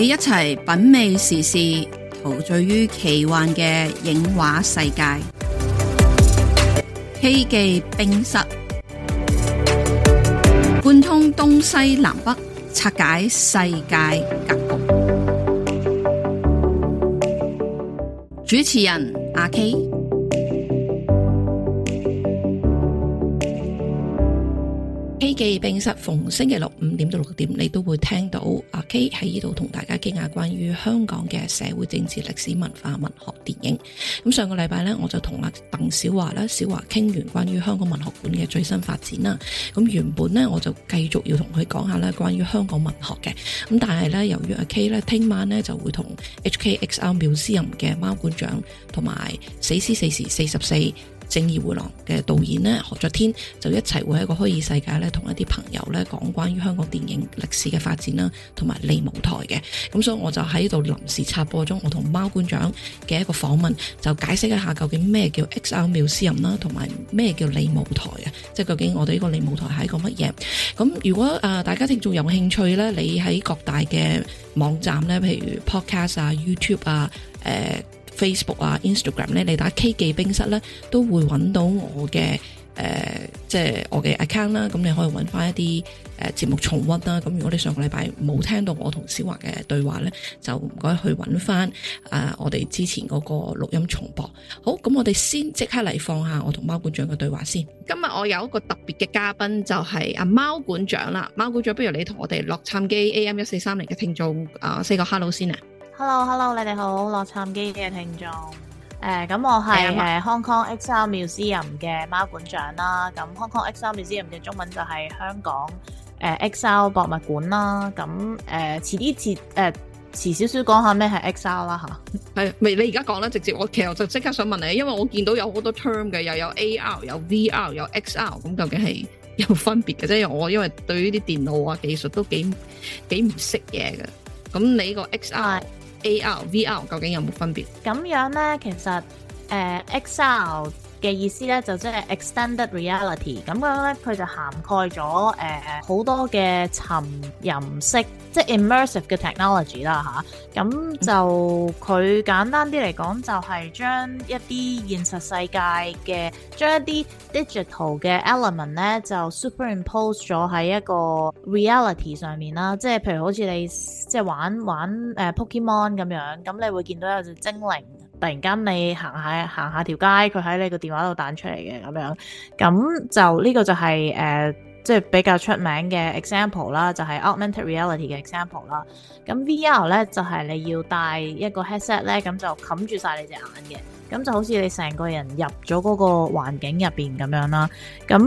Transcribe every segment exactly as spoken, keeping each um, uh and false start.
你一齊品味時事，陶醉於奇幻嘅影畫世界。K 記冰室，貫通東西南北，拆解世界格局。主持人阿 K。K 記冰室逢星期六五點到六點，你都會聽到阿 K 喺呢度同大家傾下關於香港嘅社會政治歷史文化文學電影。咁上個禮拜呢，我就同阿鄧小華啦，小華傾完關於香港文學館嘅最新發展啦。咁原本呢，我就繼續要同佢講下咧關於香港文學嘅。咁但係呢，由於阿 K 咧聽晚呢就會同 H K X R Museum 嘅貓館長同埋死屍四時四十四正義迴廊嘅導演呢，何爵天就一齊會喺個虛擬世界咧，同一啲朋友咧講關於香港電影歷史嘅發展啦，同埋利舞台嘅。咁所以我就喺度臨時插播咗我同貓館長嘅一個訪問，就解釋一下究竟咩叫 X R Museum 啦，同埋咩叫利舞台啊，即係究竟我哋呢個利舞台係一個乜嘢。咁如果誒、呃、大家聽眾有興趣咧，你喺各大嘅網站咧，譬如 Podcast 啊、YouTube 啊、誒、呃Facebook 啊 Instagram 咧，你打 K 記冰室咧，都會揾到我嘅誒、呃，即係我嘅 account 啦。咁你可以揾翻一啲誒節目重溫啦。咁如果你上個禮拜冇聽到我同小華嘅對話咧，就唔該去揾翻啊我哋之前嗰個錄音重播。好，咁我哋先即刻嚟放下我同貓館長嘅對話先。今日我有一個特別嘅嘉賓，就係阿貓館長啦。貓館長，不如你同我哋洛杉磯 A M 一四三零嘅聽眾啊 say 個 hello 先啊。 Hello，Hello， 你哋好，洛杉磯嘅聽眾。誒、呃，咁我係誒、呃、Hong Kong X R Museum 嘅貓館長啦。咁 Hong Kong X R Museum 嘅中文就係香港誒、呃、X R 博物館啦。咁誒、呃，遲啲遲誒遲少少講下咩係 X R 啦吓。係，未你而家講啦，直接我其實我就即刻想問你，因為我見到有好多 term 嘅，又有 A R， 有 V R， 有 X R， 咁究竟係有分別嘅啫？因為我因為對於啲電腦啊技術都幾幾唔識嘢嘅。咁你個 X R、A R、V R 究竟有冇分別？咁樣咧，其實誒、呃、X R 嘅意思咧，就即係 extended reality。咁樣咧，佢就涵蓋咗誒好多嘅沉浸式，即係 immersive 嘅 technology 啦吓。咁就佢簡單啲嚟講，就係將一啲現實世界嘅，將一啲 digital 嘅 element 咧，就 superimpose 咗喺一個 reality 上面啦。即係譬如好似你即係玩玩誒、呃、Pokemon 咁樣，咁你會見到有隻精靈。突然間你行下行下條街，佢喺你個電話度彈出嚟嘅咁樣，咁就呢個就係誒即係比較出名嘅 example 啦，就係 augmented reality 嘅 example 啦。咁 V R 咧就係你要戴一個 headset 咧，咁就冚住晒你隻眼嘅，咁就好似你成個人入咗嗰個環境入邊咁樣啦。咁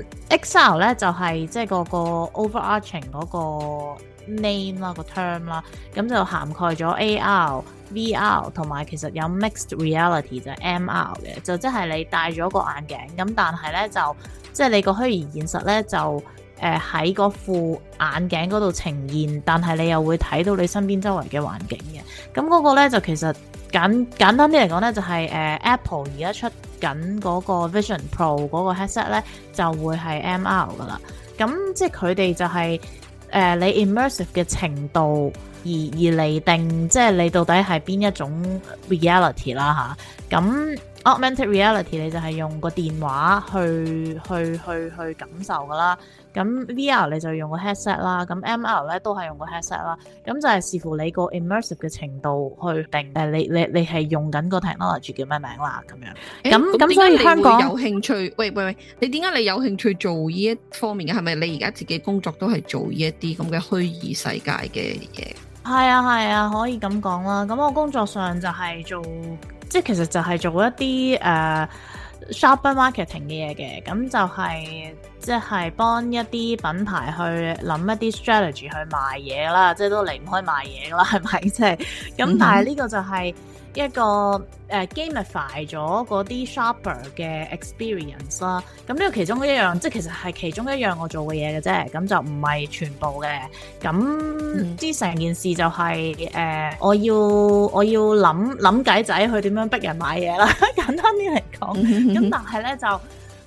X R 咧就係即係嗰個 overarching 嗰個 name 啦，個 term 啦，咁就涵蓋咗 A R、V R 同埋其實有 mixed reality 就係 M R 嘅，就即係你戴咗個眼鏡，咁但係咧就即係你個虛擬現實咧就誒喺嗰副眼鏡嗰度呈現，但係你又會睇到你身邊周圍嘅環境嘅。咁嗰個咧就其實簡簡單啲嚟講咧就係、是、誒、呃、Apple 而家出緊嗰個 Vision Pro 嗰個 headset 咧就會係 M R 噶啦。咁即係佢哋就係、是。誒、呃，你 immersive 嘅程度而而嚟定，即係你到底係邊一種 reality 啦吓。咁 augmented reality 你就係用個電話去去去去感受噶啦。咁 V R 你就用個 headset 啦，咁 M R 咧都係用個 headset 啦。咁就係視乎你個 immersive 嘅程度去定誒，你你你係用緊個 technology 叫咩名啦咁樣。咁咁所以香港有興趣，喂喂喂，你點解你有興趣做呢一方面嘅？係咪你而家自己工作都係做呢一啲咁嘅虛擬世界嘅嘢？ 係啊係啊，可以咁講啦。咁我工作上就係做，即係其實就係做一啲誒、uh, shopper marketing 嘅嘢嘅。咁就係即係幫一啲品牌去諗一啲 strategy 去賣嘢啦，即係都離唔開賣嘢噶啦，係咪？即係咁，但係呢個就係一個誒、uh, gamify 咗嗰啲 shopper 嘅 experience 啦。咁呢個其中一樣，即係其實係其中一樣我做嘅嘢嘅啫。咁就唔係全部嘅。咁之成件事就係、是、誒、呃，我要我要諗諗計仔去點樣逼人買嘢啦。簡單啲嚟講，咁但係咧就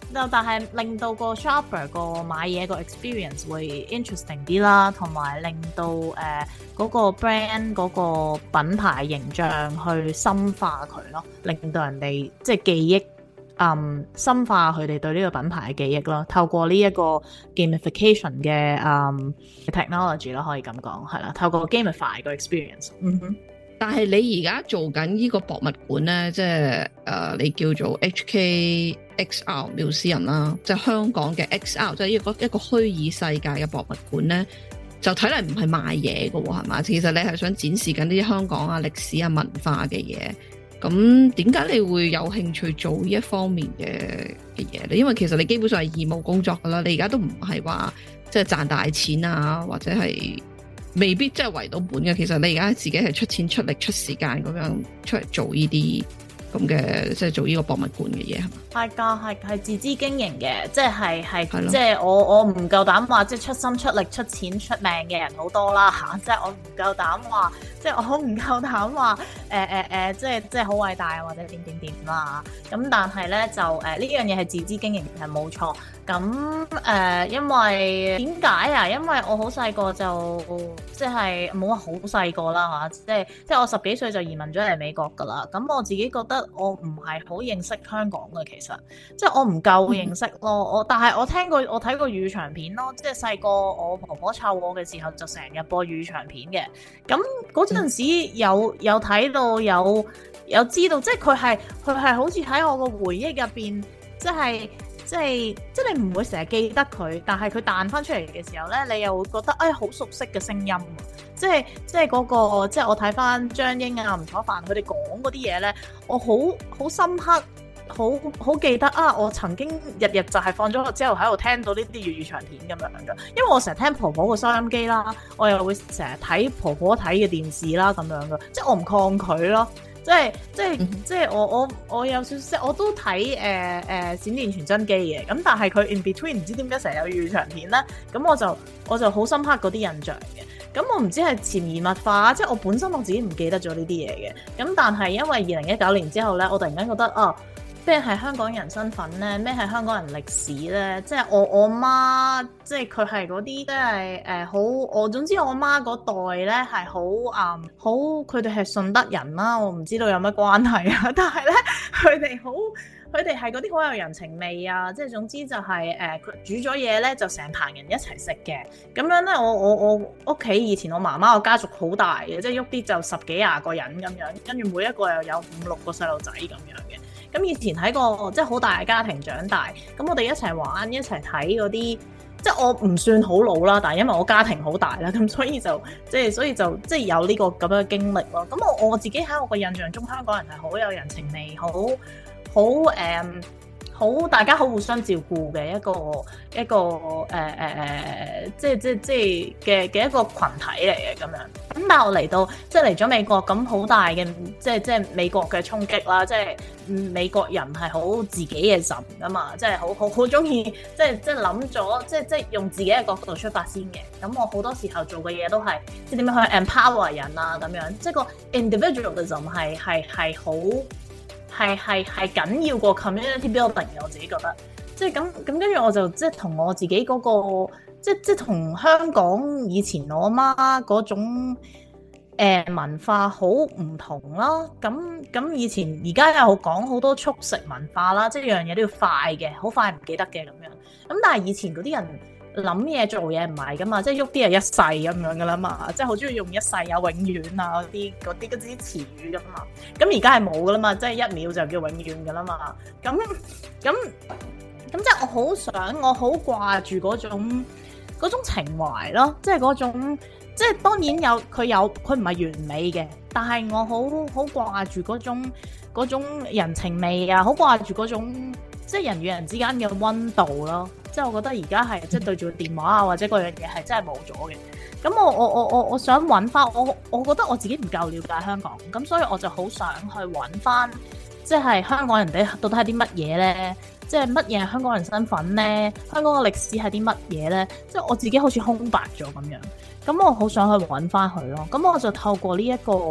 但係令到個 shopper 個買嘢個 experience 會 interesting 啲啦，同埋令到誒嗰、呃那個 brand 嗰個品牌形象去深化佢咯，令到人哋即係記憶，嗯，深化佢哋對呢個品牌嘅記憶咯。透過呢一個 gamification 嘅嗯 technology 咯，可以咁講係啦。透過 gamify 個 experience。嗯哼。 但係你而家做緊呢個博物館咧，即係誒、呃、你叫做 H K X R Museum 啦，即係香港嘅 X R，即係一個一個虛擬世界嘅博物館咧，就睇嚟唔係賣嘢嘅喎，係嘛？其實你係想展示緊啲香港啊歷史啊文化嘅嘢。咁點解你會有興趣做呢一方面嘅嘅嘢咧？因為其實你基本上係義務工作噶啦，你而家都唔係話即係賺大錢啊，或者係。未必真係圍到本嘅，其實你而家自己係出錢出力出時間咁樣出嚟做呢啲咁嘅，即係做呢個博物館嘅嘢係嘛？係㗎，係係自資經營嘅，即係係即係我我唔夠膽話即係出心出力出錢出命嘅人好多啦嚇，即係我唔夠膽話，即係我好唔夠膽話誒誒誒，即係即係好偉大或者點點點啦。咁但係咧就誒呢樣嘢係自資經營係冇錯。咁誒、呃，因為點解啊？因為我好細個就即係冇話好細個啦嚇，即係即係我十幾歲就移民咗嚟美國㗎啦。咁我自己覺得我唔係好認識香港嘅，其實即係我唔夠認識咯。我但係我聽過我睇過粵語長片咯，即係細個我婆婆湊我嘅時候就成日播粵語長片嘅。咁嗰陣時有有睇到有有知道，即係佢係佢係好似喺我個回憶入邊，即係。即係即係你唔會成日記得佢，但係佢彈翻出嚟嘅時候咧，你又會覺得誒好熟悉嘅聲音。即係即係嗰個即係我睇翻張英啊、吳楚帆佢哋講嗰啲嘢咧，我好好深刻，好好記得啊！我曾經日日就係放咗學之後喺度聽到呢啲粵語長片咁樣嘅，因為我成日聽婆婆個收音機啦，我又會成日睇婆婆睇嘅電視啦咁樣嘅，即係我唔抗拒咯。即係即係即係我我我有少少我都睇誒誒閃電傳真機嘅，咁但係佢 in between 唔知點解成日有粵語長片咧，咁我就我就好深刻嗰啲印象嘅。咁我唔知係潛移默化，即係我本身我自己唔記得咗呢啲嘢嘅。咁但係因為二零一九年之後咧，我突然間覺得啊，咩係香港人身份咧？咩係香港人歷史咧？即係我我媽，即係佢係嗰啲，即係誒好。我總之我媽嗰代咧係好誒好，佢哋係順德人啦。我唔知道有乜關係啊，但係咧佢哋好，佢哋係嗰啲好有人情味啊。即係總之就係誒佢煮咗嘢咧，就成棚人一齊食嘅。咁樣咧，我我我屋企以前我媽媽個家族好大嘅，即係喐啲就十幾廿個人咁樣，跟住每一個又有五六個細路仔咁樣嘅。咁以前喺個即係好大嘅家庭長大，咁我哋一齊玩一齊睇嗰啲，即係我唔算好老啦，但係因為我家庭好大啦，咁所以就即係所以就即係有呢個咁樣嘅經歷咯。咁我我自己喺我個印象中，香港人係好有人情味，好好誒。好，大家好互相照顧嘅一個一個誒誒誒，即係即係即係嘅嘅一個群體嚟嘅咁樣。咁但係我嚟到即係嚟咗美國，咁好大嘅即係即係美國嘅衝擊啦。即係美國人係好自己嘅神噶嘛，即係好好好中意即係即係諗咗，即係即係用自己嘅角度出發先嘅。咁我好多時候做嘅嘢都係即係點樣去 empower 人啊咁樣，即係個 individualism 係係係好。係係係緊要過 community building 嘅，我自己覺得，即係咁咁跟住我就即係同我自己嗰、嗰個，即即係同香港以前我媽嗰種、呃、文化好唔同啦。咁咁以前而家又講好多速食文化啦，即係樣嘢都要快嘅，好快唔記得嘅咁樣。咁但係以前嗰啲人諗嘢做嘢唔係噶嘛，即係喐啲係一世咁樣噶啦嘛，即係好中意用一世啊、永遠啊嗰啲嗰啲嗰啲詞語噶嘛。咁而家係冇噶啦嘛，即係一秒就叫永遠噶啦嘛。咁咁咁即係我好想，我好掛住嗰種嗰種情懷咯，即係嗰種即係當然有佢有佢唔係完美嘅，但係我好好掛住嗰種嗰種人情味啊，好掛住嗰種即係人與人之間嘅溫度咯。即係我覺得而家係即係對住個電話啊，或者嗰樣嘢係真係冇咗嘅。咁我我我我我想揾翻我，我覺得我自己唔夠了解香港，咁所以我就好想去揾翻，即係香港人哋到底係啲乜嘢咧？即係乜嘢係香港人身份咧？香港嘅歷史係啲乜嘢咧？即係我自己好似空白咗咁樣。咁我好想去揾翻佢咯。咁我就透過呢一個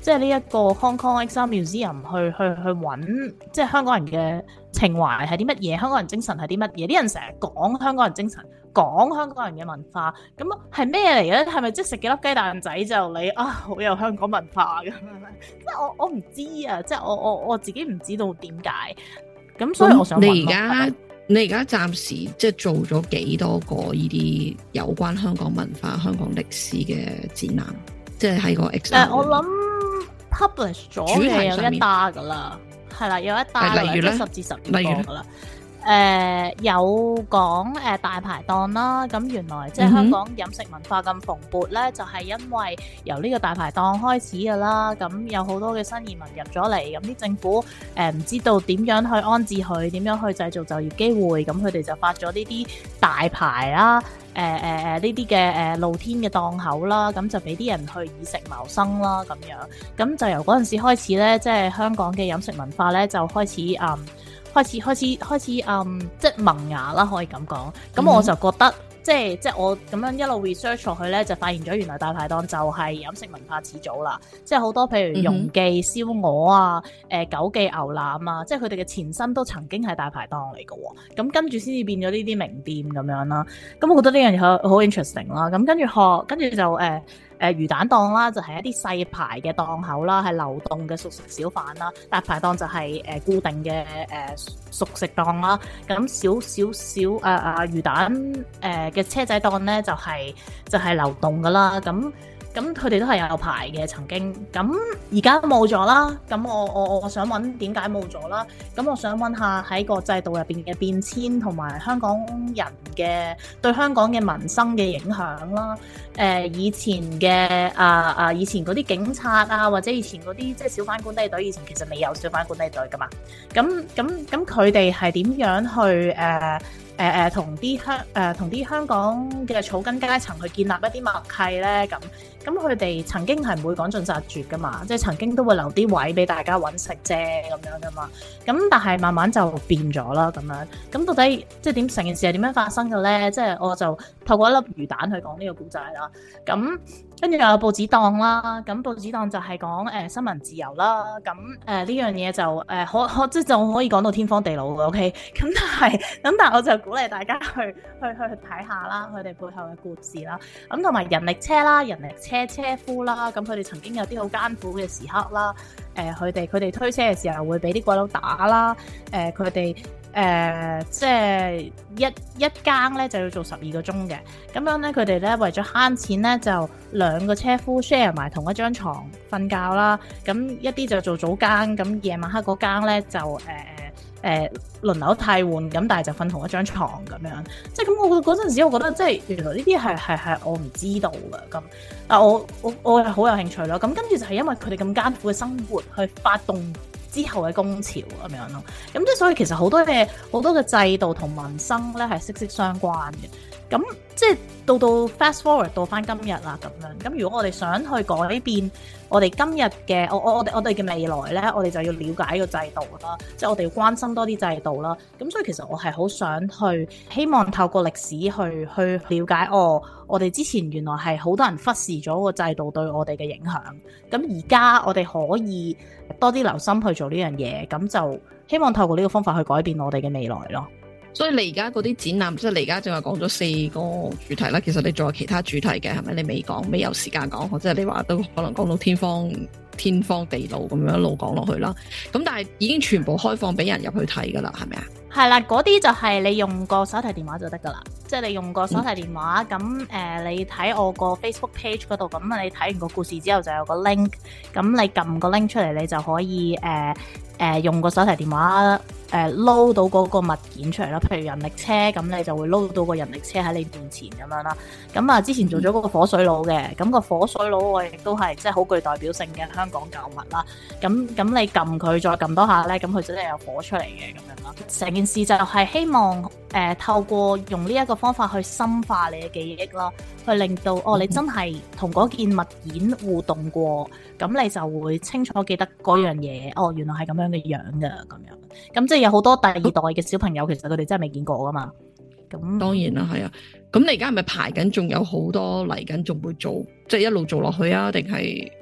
即係呢一個 Hong Kong Exile Museum 去去去揾，即係香港人嘅情懷係啲乜嘢，香港人精神係啲乜嘢？啲人成日講香港人精神，講香港人嘅文化，咁係咩嚟嘅咧？係咪即係食幾粒雞蛋仔就你啊好有香港文化咁樣？即係我我唔知啊，即係我我我自己唔知道點解。咁所以我想問你而家你而家暫時即係做咗幾多個呢啲有關香港文化、香港歷史嘅展覽？即係喺個 Exile、呃、 我諗 publish 咗嘅有一打噶啦，係啦，有一打例如咧十至十二個噶啦。誒、呃、有講誒、呃、大排檔啦，咁原來即係香港飲食文化咁蓬勃咧、嗯，就係、是、因為由呢個大排檔開始㗎啦。咁有好多嘅新移民入咗嚟，咁啲政府誒唔、呃、知道點樣去安置佢，點樣去製造就業機會，咁佢哋就發咗呢啲大排啦，誒誒誒呢啲嘅誒露天嘅檔口啦，咁就俾啲人去以食謀生啦，咁樣咁就由嗰陣時開始咧，即係香港嘅飲食文化咧就開始嗯。開始開始開始嗯，即係萌芽啦，可以咁講。咁我就覺得，嗯、即係即係我咁樣一路 research 落去咧，就發現咗原來大排檔就係飲食文化始祖啦。即係好多譬如容記燒鵝啊、誒、呃、九記牛腩啊，即係佢哋嘅前身都曾經係大排檔嚟嘅。咁跟住先至變咗呢啲名店咁樣啦。咁我覺得呢樣嘢好好 interesting 啦。咁跟住學，跟住就誒。呃誒、呃、魚蛋檔啦，就係、是、一啲細牌嘅檔口啦，係流動嘅熟食小販啦。大排檔就係、是、誒、呃、固定嘅誒、呃、熟食檔啦。咁少少少誒誒魚蛋誒嘅、呃、車仔檔咧，就係、是、就係、是、流動噶啦。咁咁佢哋都係有牌嘅曾經，咁而家冇咗啦。咁我我我想問點解冇咗啦？咁我想問下喺個制度入邊嘅變遷，同埋香港人嘅對香港嘅民生嘅影響啦。誒、呃、以前嘅啊啊以前嗰啲警察啊，或者以前嗰啲即係小販管理隊，以前其實未有小販管理隊噶嘛。咁咁咁佢哋係點樣去誒？呃誒誒同啲香誒同啲香港嘅草根階層去建立一啲默契咧，咁咁佢哋曾經係唔會趕盡殺絕噶嘛，即係曾經都會留啲位俾大家揾食啫咁樣噶嘛。咁但係慢慢就變咗啦咁樣。咁到底即係點成件事係點樣發生嘅咧？即係我就透過一粒魚蛋去講呢個故仔啦。咁跟住又有報紙檔啦。咁報紙檔就係講誒新聞自由啦。咁誒呢樣嘢就誒可可即係就可以講到天荒地老嘅 OK。咁但係咁但係我就鼓勵大家去去去睇下啦，佢哋背後嘅故事啦。咁同埋人力車啦、人力車車夫啦，咁佢哋曾經有啲好艱苦嘅時刻啦。誒佢哋佢哋推車嘅時候會俾啲鬼佬打啦。誒佢哋誒即係一一更咧就要做十二個鐘嘅。咁樣咧佢哋咧為咗慳錢咧，就兩個車夫 share 埋同一張床瞓覺啦。咁一啲就做早更，咁夜晚黑嗰更咧就誒。呃誒、呃、輪流替換咁，但係就瞓同一張床咁樣，即係咁。我嗰陣時，我覺得即係原來呢啲係係係我唔知道嘅咁。但我我我係好有興趣咯。咁跟住就係因為佢哋咁艱苦嘅生活，去發動之後嘅工潮咁樣咯。咁即係所以其實好多嘅好多嘅制度同民生咧係息息相關嘅。咁即係到到 fast forward 到翻今日啦咁樣。咁如果我哋想去改變我哋今日嘅我我我哋我哋嘅未來咧，我哋就要了解個制度啦，即係我哋要關心多啲制度啦。咁所以其實我係好想去希望透過歷史去去了解哦，我哋之前原來係好多人忽視咗個制度對我哋嘅影響。咁而家我哋可以多啲留心去做呢樣嘢，咁就希望透過呢個方法去改變我哋嘅未來咯。 所以你而家嗰啲展覽，即係你而家正話講咗四個主題啦。其實你仲有其他主題嘅，係咪？你未講，未有時間講，即係你話都可能講到天荒天荒地老咁樣一路講落去啦。咁但係已經全部開放俾人入去睇噶啦，係咪啊？係啦，嗰啲就係你用個手提電話就得噶啦。即係你用個手提電話，咁、嗯、誒、呃，你睇我個 Facebook page 嗰度，咁你睇完個故事之後就有個 link，咁你撳個 link 出嚟，你就可以誒誒、呃呃、用個手提電話。誒撈到嗰個物件出嚟啦，譬如人力車，咁你就會撈到個人力車喺你面前咁樣啦。咁啊，之前做咗嗰個火水佬嘅，咁、個火水佬我亦都係即係好具代表性嘅香港舊物啦。咁咁你撳佢再撳多下咧，咁佢真係有火出嚟嘅咁樣啦。成件事就係希望誒、呃、透過用呢一個方法去深化你嘅記憶啦，去令到哦你真係同嗰件物件互動過，咁你就會清楚記得嗰樣嘢。哦，原來係咁樣嘅樣㗎咁樣。咁即係有好多第二代嘅小朋友，其實佢哋真係未見過噶嘛。咁當然啦，係啊。咁你而家係咪排緊？仲有好多嚟緊，仲會做，即係一路做落去啊？定係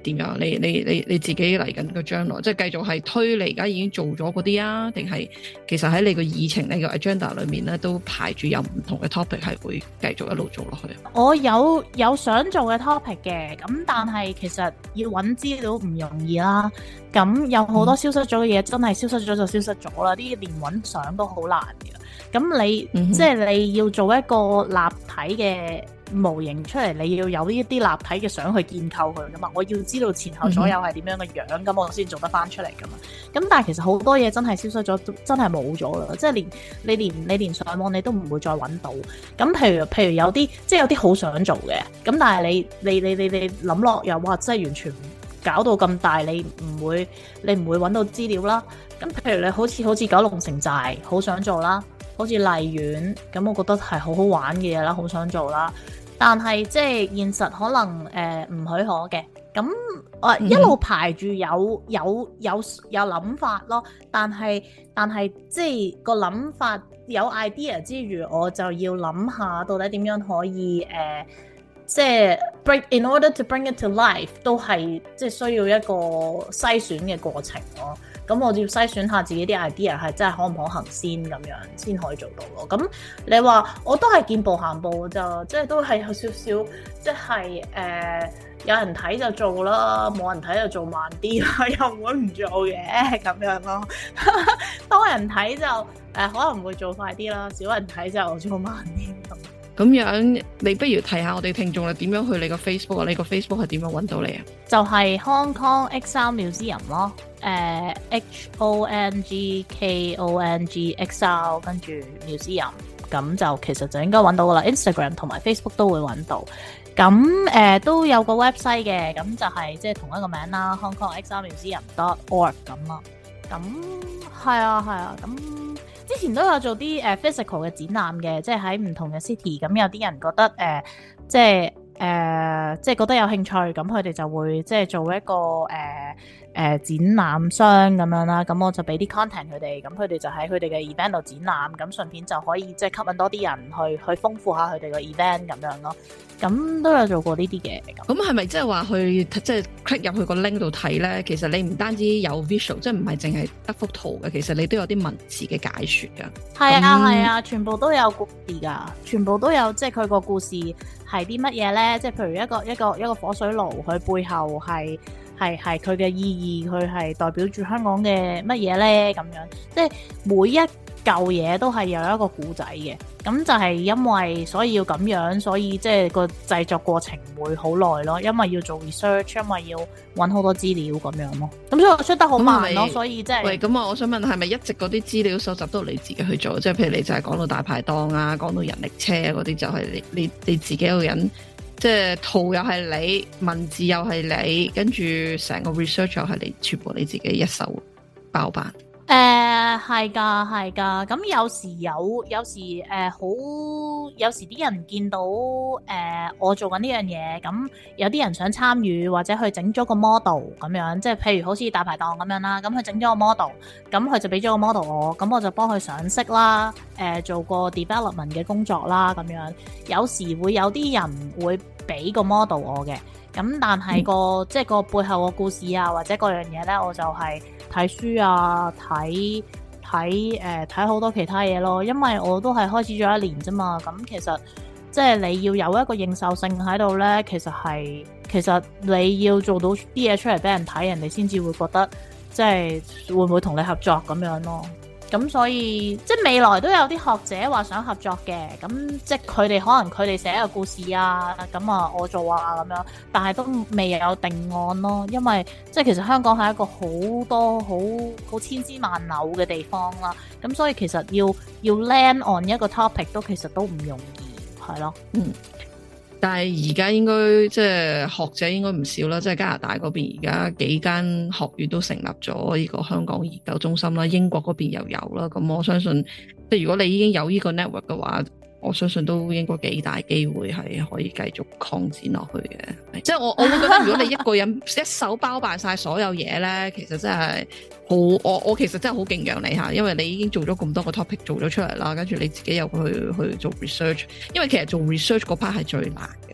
點樣？你你你你自己嚟緊個將來，即係繼續係推你而家已經做咗嗰啲啊，定係其實喺你個議程、你個 agenda 裏面咧，都排住有唔同嘅 topic 係會繼續一路做落去？ 我有有想做嘅 topic 嘅，咁但係其實要揾資料唔容易啦。咁有好多消失咗嘅嘢，真係消失咗就消失咗啦。啲連揾相都好難嘅。咁你、嗯、即係你要做一個立體嘅模型出嚟，你要有呢一啲立體嘅相去建構佢噶嘛。我要知道前後左右係點樣嘅樣，咁、嗯、我先做得翻出嚟噶嘛。咁但係其實好多嘢真係消失咗，真係冇咗啦。即係連你連你連上網你都唔會再揾到。咁譬如譬如有啲即係有啲好想做嘅，咁但係你你你你你諗落又哇，真係完全搞到咁大，你唔會你唔會揾到資料啦。咁譬如你好似好似九龍城寨好想做啦。好似荔園咁，我覺得係好好玩嘅嘢啦，好想做啦。但係即係現實可能誒唔、呃、許可嘅。咁我、呃嗯、一路排住有有有有諗法咯。但係但係即係個諗法有 idea 之餘，我就要諗下到底點樣可以誒、呃，即係 bring in order to bring it to life 都係即係需要一個篩選嘅過程咯。咁我要篩選下自己啲 idea 係真係可唔可行先，咁樣先可以做到咯。咁你話我都係見步行步就即係都係有少少即係誒、呃、有人睇就做啦，冇人睇就做慢啲啦，又唔會唔做嘅咁樣咯。多人睇就誒、呃、可能會做快啲啦，少人睇就做慢啲咁。 咁樣你不如提下我哋聽眾啦，點樣去你個 Facebook 啊？你個 Facebook 係點樣揾到你啊？就係 Hong Kong Exile Museum 咯，誒、呃、H O N G K O N G Exile 跟住 Museum， 咁就其實就應該揾到噶啦。Instagram 同埋 Facebook 都會揾到，咁誒、呃、都有個 website 嘅，咁就係即係同一個名啦 ，Hong Kong Exile Museum dot org 咁咯。咁係啊係啊，咁。之前都有做啲誒、uh, physical 嘅展覽嘅，即係喺唔同嘅 city。咁有啲人覺得誒、呃，即係誒、呃，即係覺得有興趣，咁佢哋就會即係做一個誒誒、呃呃、展覽商咁樣啦。咁我就俾啲 content 佢哋，咁佢哋就喺佢哋嘅 event 度展覽，咁順便就可以即係吸引多啲人去去豐富下佢哋個 event 咁樣咯。咁都有做過呢啲嘅。 咁係咪即係話去即係 click 入去個 link 度睇咧？其實你唔單止有 visual，即係唔係淨係得幅圖嘅，其實你都有啲文字嘅解說噶。係啊係啊，全部都有故事噶，全部都有即係佢個故事係啲乜嘢咧？即係譬如一個一個一個火水爐，佢背後係係係佢嘅意義，佢係代表住香港嘅乜嘢咧？咁樣即係每一舊嘢都係有一個故仔嘅，咁就係因為所以要咁樣，所以即係個製作過程會好耐咯，因為要做 research，因為要揾好多資料咁樣咯，咁所以我出得好慢咯，所以即係。喂，咁啊，我想問係咪一直嗰啲資料搜集都係你自己去做？即係譬如你就係講到大排檔啊，講到人力車嗰啲，就係你你你自己一個人，即係圖又係你，文字又係你，跟住成個 research 又係你，全部你自己一手包辦。 誒係㗎係㗎，咁有時有有時誒好、呃、有時啲人見到誒、呃、我做緊呢樣嘢，咁有啲人想參與或者去整咗個 model 咁樣，即係譬如好似大排檔咁樣啦，咁佢整咗個 model，咁佢就俾咗個 model 我，咁我就幫佢上色啦，誒、呃、做個 development 嘅工作啦咁樣，有時會有啲人會俾個 model 我嘅，咁但係個、嗯、即係個背後個故事啊或者嗰樣嘢咧，我就係、是。睇書啊，睇睇誒睇好多其他嘢咯，因為我都係開始咗一年啫嘛，咁其實即係你要有一個認受性喺度咧，其實係其實你要做到啲嘢出嚟俾人睇，人哋先至會覺得即係會唔會同你合作咁樣咯。咁所以即係未來都有啲學者話想合作嘅，咁即係佢哋可能佢哋寫一個故事啊，咁啊我做啊咁樣，但係都未有定案咯，因為即係其實香港係一個好多好好千絲萬縷嘅地方啦，咁所以其實要要 land on 一個 topic 都其實都唔容易，係咯，嗯。 但係而家應該即係學者應該唔少啦，即係加拿大嗰邊而家幾間學院都成立咗呢個香港研究中心啦，英國嗰邊又有啦，咁我相信即係如果你已經有呢個 network 嘅話，我相信都應該幾大機會係可以繼續擴展落去嘅。即係我我會覺得如果你一個人一手包辦晒所有嘢咧，其實真係好，我我其實真係好敬仰你吓，因為你已經做咗咁多個 topic 做咗出嚟啦，跟住你自己又去去做 research， 因為其實做 research 嗰 part 係最難嘅。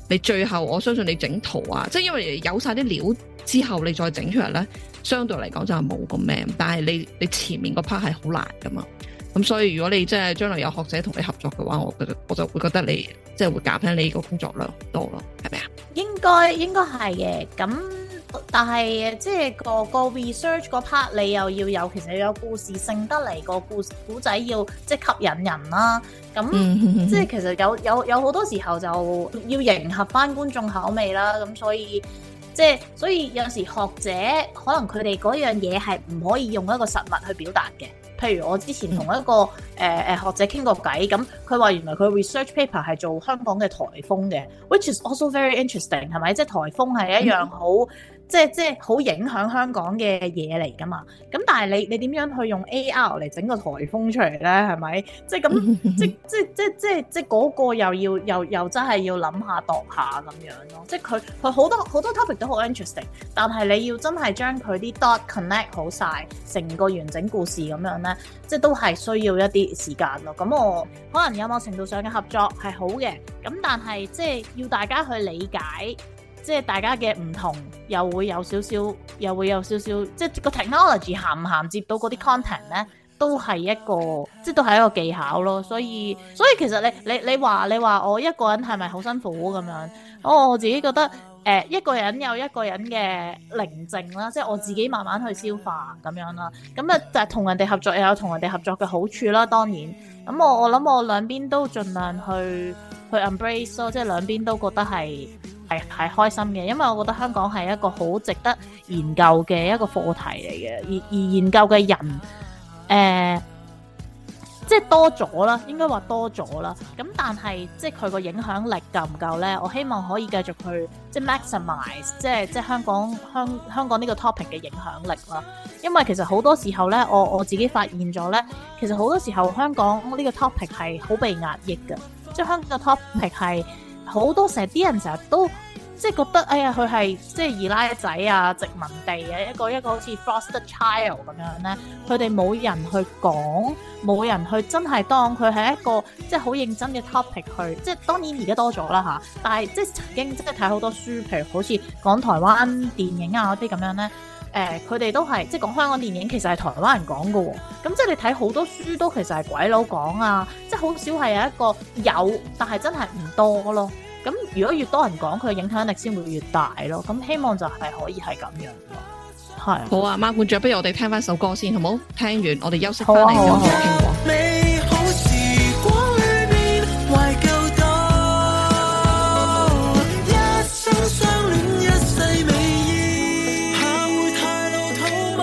你最後我相信你整圖啊，即係因為有晒啲料之後你再整出嚟咧，相對嚟講就係冇咁咩，但係你你前面個 part 係好難噶嘛。咁所以如果你即係將來有學者同你合作嘅話，我覺得我就會覺得你即係會減輕你個工作量多咯，係咪啊？應該應該係嘅，咁但係即係個個 research 嗰 part 你又要有，其實要有故事性得嚟，個故故仔要即係吸引人啦。咁、嗯、即係其實有有有好多時候就要迎合翻觀眾口味啦。咁所以即係所以有時學者可能佢哋嗰樣嘢係唔可以用一個實物去表達嘅。譬如我之前同一個誒誒、呃、學者傾過偈，咁佢話原來佢 research paper 係做香港嘅颱風嘅 ，which is also very interesting， 係咪？即係颱風係一樣好、嗯、即係即係好影響香港嘅嘢嚟㗎嘛。咁但係你你點樣去用 A R 嚟整個颱風出嚟咧？係咪？即係咁即即即即即嗰個又要又又真係要諗下度下咁樣咯。即係佢佢好多好多 topic 都好 interesting， 但係你要真係將佢啲 dot connect 好晒，成個完整故事咁樣咧，即係都係需要一啲時間咯。咁我可能有某程度上嘅合作係好嘅，咁但係即係要大家去理解，即係大家嘅唔同，又會有少少，又會有少少，即係個 technology 銜唔銜接到嗰啲 content 咧，都係一個，即係都係一個技巧咯。所以，所以其實你你你話你話我一個人係咪好辛苦咁樣？我我自己覺得。誒、呃、一個人有一個人嘅寧靜啦，即係我自己慢慢去消化咁樣啦。咁啊，就係同人哋合作又有同人哋合作嘅好處啦。當然，咁我我諗我兩邊都盡量去去 embrace 咯，即係兩邊都覺得係係係開心嘅，因為我覺得香港係一個好值得研究嘅一個課題嚟嘅，而而研究嘅人誒。呃即係多咗啦，應該話多咗啦。咁但係即係佢個影響力夠唔夠咧？我希望可以繼續去即係 maximize，即係即係香港香香港呢個 topic 嘅影響力啦。因為其實好多時候咧，我我自己發現咗咧，其實好多時候香港呢個 topic 係好被壓抑嘅，即係香港嘅 topic 係好多成日啲人成日都。即係覺得，哎呀，佢係即係二奶仔啊，殖民地嘅一個一個好似 foster child 咁樣咧，佢哋冇人去講，冇人去真係當佢係一個即係好認真嘅 topic 去，即係當然而家多咗啦嚇，但係即係曾經即係睇好多書，譬如好似講台灣電影啊嗰啲咁樣咧，誒佢哋都係即係講香港電影其實係台灣人講嘅喎，咁即係你睇好多書都其實係鬼佬講啊，即係好少係有一個有，但係真係唔多咯。咁如果越多人講，佢嘅影響力先會越大咯。咁希望就係可以係咁樣咯。係好啊，貓館長，不如我哋聽翻首歌先，好冇？聽完我哋休息翻嚟再傾過。美好時光裏面懷舊到一生相戀一世美意，怕會太老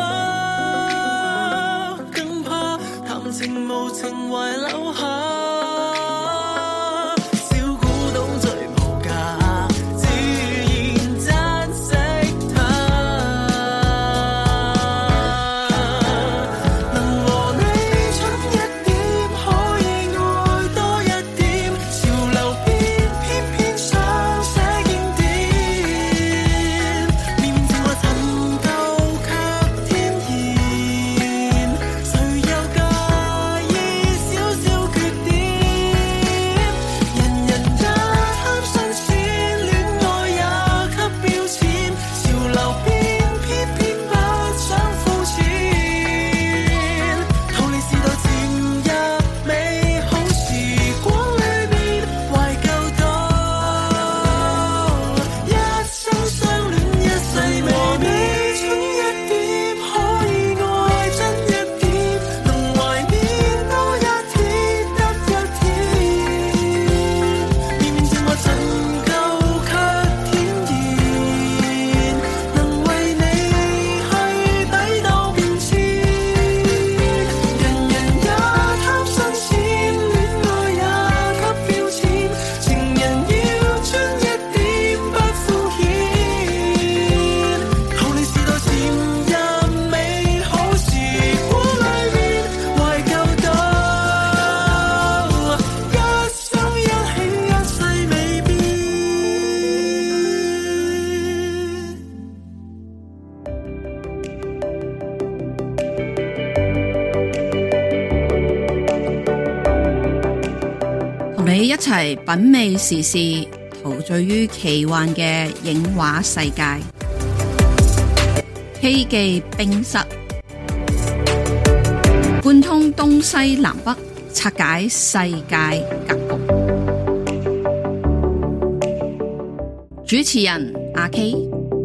土嗎？更怕談情無情懷留下。 一齊品味時事， 陶醉於奇幻嘅影畫世界。K 記冰室，貫通東西南北，拆解世界格局。主持人阿 K。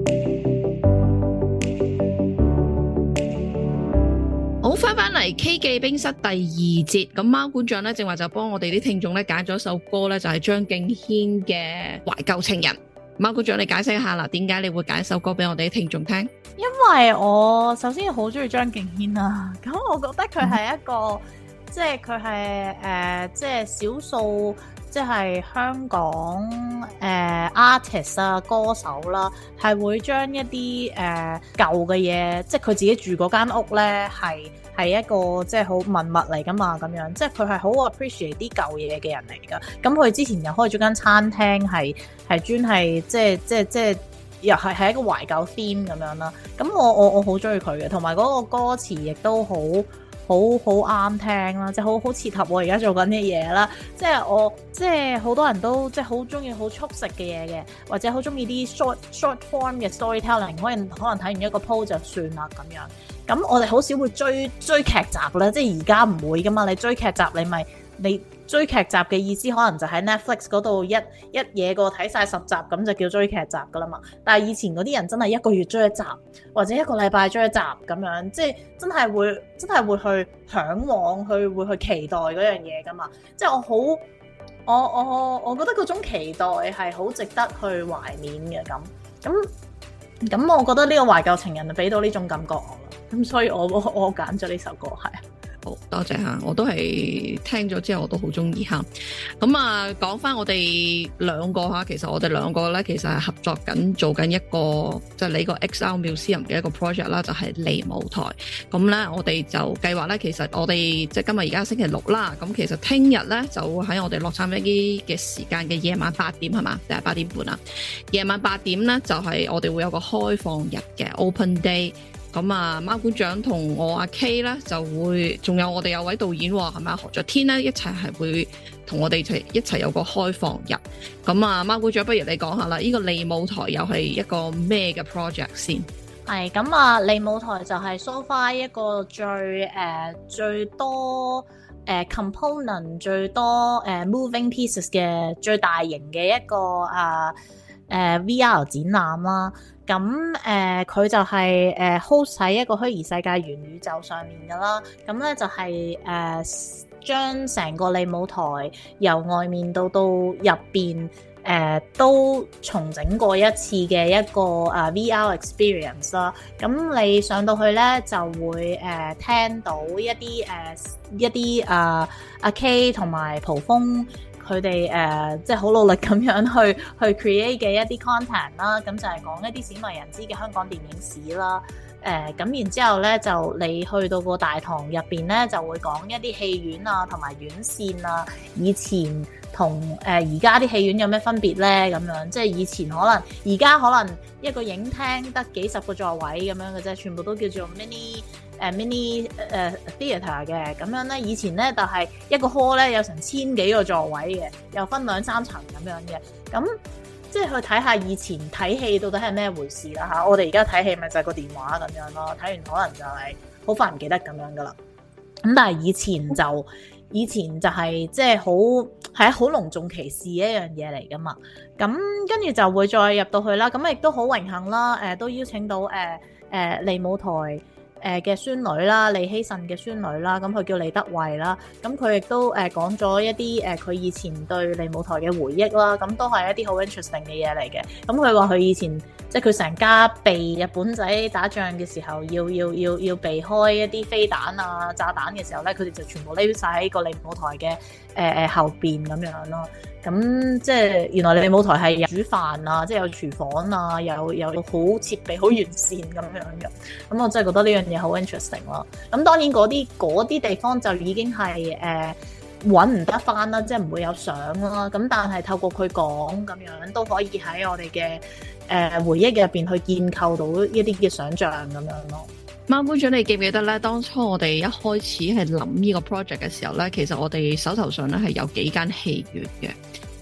好，翻返嚟 K 記冰室第二節，咁貓館長咧正話就幫我哋啲聽眾咧揀咗首歌咧，就係張敬軒嘅《懷舊情人》。貓館長，你解釋一下啦，點解你會揀首歌俾我哋啲聽眾聽？ 因為我首先好中意張敬軒啊，咁我覺得佢係一個，嗯、即係佢係誒，即係少數。即係香港誒、呃、artist 啊，歌手啦，係會將一啲誒、呃、舊嘅嘢，即係佢自己住嗰間屋咧，係係一個即係好文物嚟噶嘛，咁樣，即係佢係好 appreciate 啲舊嘢嘅人嚟噶。咁佢之前又開咗間餐廳，係係專係即係即係即係又係係一個懷舊 theme 咁樣啦。咁我我我好中意佢嘅，同埋嗰個歌詞亦都好。好好啱聽啦，即係好好切合我而家做緊嘅嘢啦。即係我即係好多人都即係好中意好速食嘅嘢嘅，或者好中意啲 short short form 嘅 storytelling，可能可能睇完一個 post 就算啦咁樣。咁我哋好少會追追劇集啦，即係而家唔會噶嘛。你追劇集你咪你追劇集嘅意思，可能就喺 Netflix 嗰度一一嘢過睇晒十集，咁就叫追劇集噶啦嘛。但係以前嗰啲人真係一個月追一集，或者一個禮拜追一集咁樣，即係真係會真係會去嚮往，去會去期待嗰樣嘢噶嘛。即係我好我我我覺得嗰種期待係好值得去懷緬嘅咁咁咁。我覺得呢個懷舊情人就俾到呢種感覺我啦。咁所以我我我揀咗呢首歌係。 好多謝吓，我都係聽咗之後我都好中意吓。咁啊，講翻我哋兩個吓，其實我哋兩個咧，其實係合作緊做緊一個即係呢個 X R Museum 嘅一個 project 啦，就係離舞台。咁咧，我哋就計劃咧，其實我哋即係今日而家星期六啦。咁其實聽日咧就喺我哋洛杉磯嘅時間嘅夜晚八點係嘛，定係八點半啊？夜晚八點咧就係我哋會有個開放日嘅 Open Day。咁啊，貓館長同我阿 K 咧就會，仲有我哋有位導演係咪何卓天咧，一齊係會同我哋一齊一齊有個開放日。咁啊，貓館長不如你講下啦，呢個離舞台又係一個咩嘅 project 先？ 係咁啊，離舞台就係 so far 一個最誒、呃、最多誒、呃、component 最多誒、呃、moving pieces 嘅最大型嘅一個啊誒、呃呃、V R 展覽啦。咁誒佢就係誒 host 喺一個虛擬世界元宇宙上面㗎啦。咁咧就係、是、誒、呃、將成個離舞台由外面到到入邊誒都重整過一次嘅一個啊 V R experience 啦。咁你上到去咧就會誒、呃、聽到一啲誒、呃、一啲啊阿 K 同埋蒲鋒。佢哋誒即係好努力咁樣去去 create 嘅一啲 content 啦，咁就係講一啲鮮為人知嘅香港電影史啦。誒、呃、咁然之後咧，就你去到個大堂入邊咧，就會講一啲戲院啊，同埋院線啊，以前同誒而家啲戲院有咩分別咧？咁樣即係以前可能，而家可能一個影廳得幾十個座位咁樣嘅啫，全部都叫做 mini。誒 mini 誒 theatre 嘅咁樣咧，以前咧就係一個 hall 咧有成千幾個座位嘅，又分兩三層咁樣嘅。咁即係去睇下以前睇戲到底係咩回事啦嚇。我哋而家睇戲咪就係個電話咁樣咯，睇完可能就係好快唔記得咁樣噶啦。咁但係以前就以前就係即係好係好隆重其事一樣嘢嚟噶嘛。咁跟住就會再入到去啦。咁亦都好榮幸啦，誒、呃、都邀請到誒誒離舞台。誒嘅孫女啦，李希慎嘅孫女啦，咁佢叫李德慧啦，咁佢亦都誒講咗一啲誒佢以前對離舞台嘅回憶啦，咁都係一啲好 interesting 嘅嘢嚟嘅。咁佢話佢以前即係佢成家避日本仔打仗嘅時候，要要要要避開一啲飛彈啊、炸彈嘅時候咧，佢哋就全部匿晒喺個離舞台嘅誒誒後邊咁樣咯。咁即係原來離舞台係有煮飯啊，即係有廚房啊，有有好設備好完善咁樣嘅。咁我真係覺得呢樣嘢好 interesting 咯。咁當然嗰啲嗰啲地方就已經係誒揾唔得翻啦，即係唔會有相啦。咁但係透過佢講咁樣，都可以喺我哋嘅誒回憶入邊去建構到一啲嘅想像咁樣咯。 貓館長，你記唔記得咧？當初我哋一開始係諗呢個 project 嘅時候咧，其實我哋手頭上咧係有幾間戲院嘅。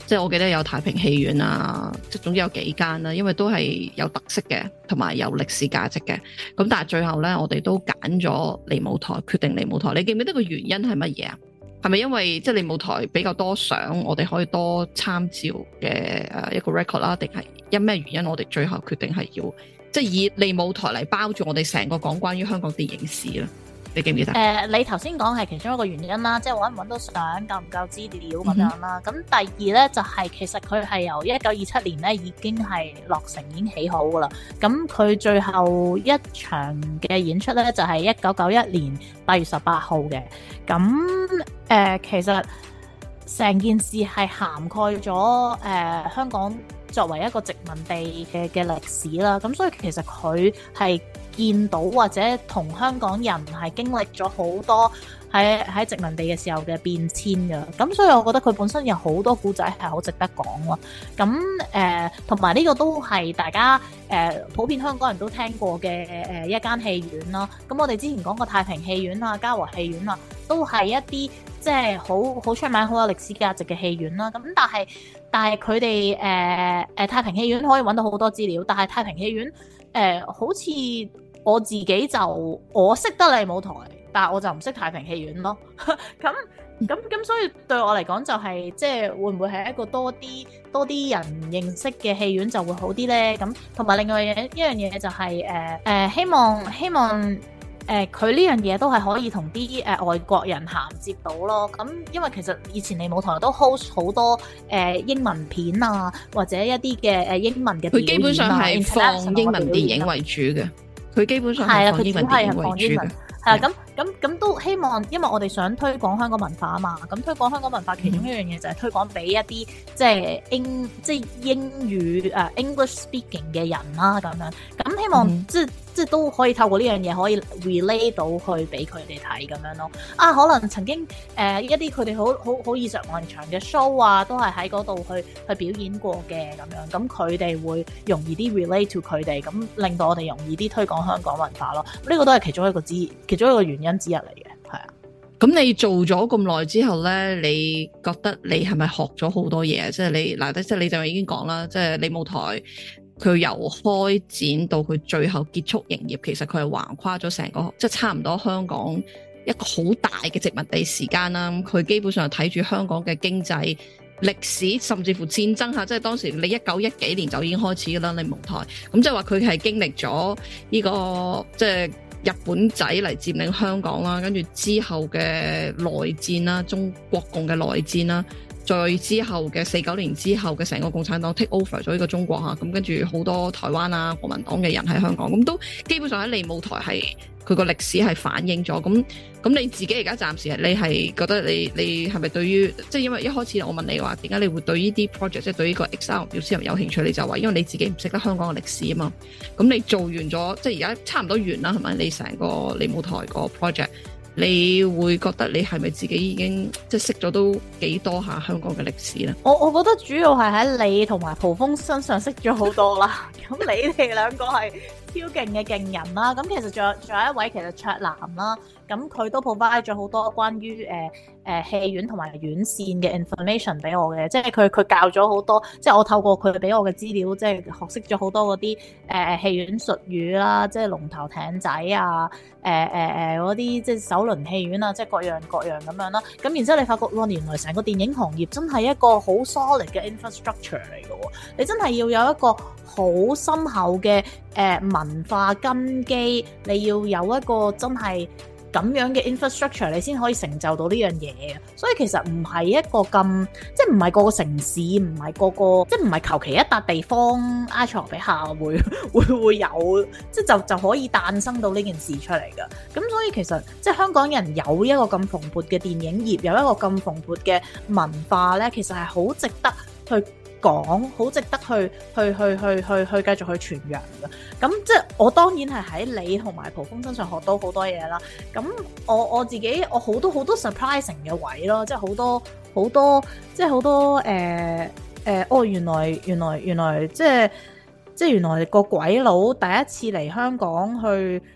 即係我記得有太平戲院啊，即係總之有幾間啦，因為都係有特色嘅，同埋有歷史價值嘅。咁但係最後咧，我哋都揀咗利舞台，決定利舞台。你記唔記得個原因係乜嘢啊？係咪因為即係利舞台比較多相，我哋可以多參照嘅誒一個 record 啦？定係因咩原因我哋最後決定係要即係以利舞台嚟包住我哋成個講關於香港電影史咧？你記唔記得？誒、 呃，你頭先講係其中一個原因啦，即係揾唔揾到相，夠唔夠資料咁樣啦。咁、嗯、第二咧就係、是、其實佢係由一九二七年咧已經係落成，已經起好噶啦。咁佢最後一場嘅演出咧就係一九九一年八月十八號嘅。咁誒、呃，其實成件事係涵蓋咗誒、呃、香港作為一個殖民地嘅嘅歷史啦。咁所以其實佢係見到或者同香港人係經歷咗好多喺喺殖民地嘅時候嘅變遷㗎，咁所以我覺得佢本身有好多故仔係好值得講咯。咁誒同埋呢個都係大家誒、呃、普遍香港人都聽過嘅誒、呃、一間戲院啦。咁我哋之前講過太平戲院啊、嘉禾戲院啊，都係一啲即係好好出名、好有歷史價值嘅戲院啦。咁但係但係佢哋誒誒太平戲院可以揾到好多資料，但係太平戲院誒、呃、好似我自己就我識得利舞台，但係我就唔識太平戲院咯。咁咁咁，所以對我嚟講就係、是、即係會唔會係一個多啲多啲人認識嘅戲院就會好啲咧？咁同埋另外一樣一樣嘢就係誒誒，希望希望誒佢呢樣嘢都係可以同啲誒外國人銜接到咯。咁因為其實以前利舞台都 host 好多誒、呃、英文片啊，或者一啲嘅誒英文嘅表演啊，佢基本上係放英文電影為主嘅。佢基本上係放英文電影為主嘅，係啊，咁咁咁都希望，因為我哋想推廣香港文化啊嘛，咁推廣香港文化其中一樣嘢就係推廣俾一啲即係英即係英語誒、uh, English speaking 嘅人啦，咁樣，咁希望、嗯、即係即係都可以透過呢樣嘢可以 relate 到去俾佢哋睇咁樣咯。啊，可能曾經誒、呃、一啲佢哋好好好耳熟能詳嘅 show 啊，都係喺嗰度去去表演過嘅咁樣，咁佢哋會容易啲 relate to 佢哋，咁令到我哋容易啲推廣香港文化咯。呢、這個都係其中一個之其中一個原因之一嚟嘅，係啊。 咁你做咗咁耐之後咧，你覺得你係咪學咗好多嘢？即係你嗱，即係你就已經講啦，即係利舞台佢由開展到佢最後結束營業，其實佢係橫跨咗成個，即係差唔多香港一個好大嘅殖民地時間啦。佢基本上睇住香港嘅經濟、歷史，甚至乎戰爭下，即係當時你一九一幾年就已經開始噶啦，利舞台。咁即係話佢係經歷咗呢個即係日本仔嚟佔領香港啦，跟住之後嘅內戰啦，中國共嘅內戰啦，再之後嘅四九年之後嘅成個共產黨 take over 咗呢個中國嚇，咁跟住好多台灣啊國民黨嘅人喺香港，咁都基本上喺利舞台係佢個歷史係反映咗。咁咁你自己而家暫時你係覺得你你係咪對於即係因為一開始我問你話點解你會對呢啲 project 即係對呢個 X R Museum 有興趣？你就話因為你自己唔識得香港嘅歷史啊嘛。咁你做完咗即係而家差唔多完啦，係咪？你成個利舞台個 project，你會覺得你係咪自己已經即係識咗都幾多下香港嘅歷史咧？ 我我覺得主要係喺你同埋蒲鋒身上識咗好多啦。咁你哋兩個係超勁嘅勁人啦。咁其實仲有仲有一位其實卓南啦。咁佢都 provide 咗好多關於誒誒戲院同埋院線嘅 information 俾我嘅，即係佢佢教咗好多，即係我透過佢俾我嘅資料，即係學識咗好多嗰啲誒戲院術語啦，即係龍頭艇仔啊，誒誒誒嗰啲即係首輪戲院啊，即係各樣各樣咁樣啦。咁然之後你發覺哇，原來成個電影行業真係一個好 solid 嘅 infrastructure 嚟嘅喎，你真係要有一個好深厚嘅誒、呃、文化根基，你要有一個真係咁樣嘅 infrastructure， 你先可以成就到呢樣嘢。所以其實唔係一個咁，即係唔係個個城市，唔係個個，即係唔係求其一笪地方埃塞俄比亞會會會有，即係就就可以誕生到呢件事出嚟㗎。咁所以其實即係香港人有一個咁蓬勃嘅電影業，有一個咁蓬勃嘅文化咧，其實係好值得去講，好值得去去去去去去繼續去傳揚嘅。咁即係我當然係喺你同埋蒲鋒身上學到好多嘢啦。咁我我自己我好多好多 surprising 嘅位咯，即係好多好多即係好多誒誒、呃呃、哦原來原來原來即係即係原來個鬼佬第一次嚟香港去